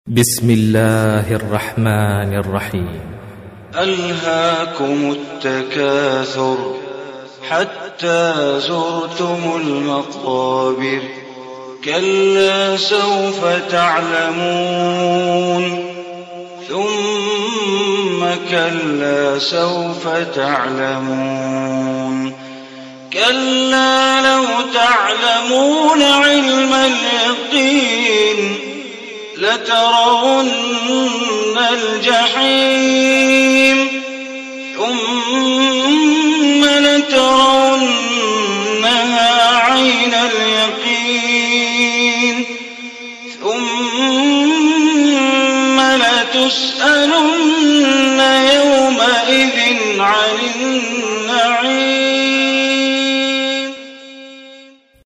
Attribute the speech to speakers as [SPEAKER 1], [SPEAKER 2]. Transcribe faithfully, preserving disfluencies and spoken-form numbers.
[SPEAKER 1] بسم الله الرحمن الرحيم.
[SPEAKER 2] ألهاكم التكاثر حتى زرتم المقابر كلا سوف تعلمون ثم كلا سوف تعلمون كلا لو تعلمون علم اليقين لترون الجحيم ثم لترونها عين اليقين ثم لتسألن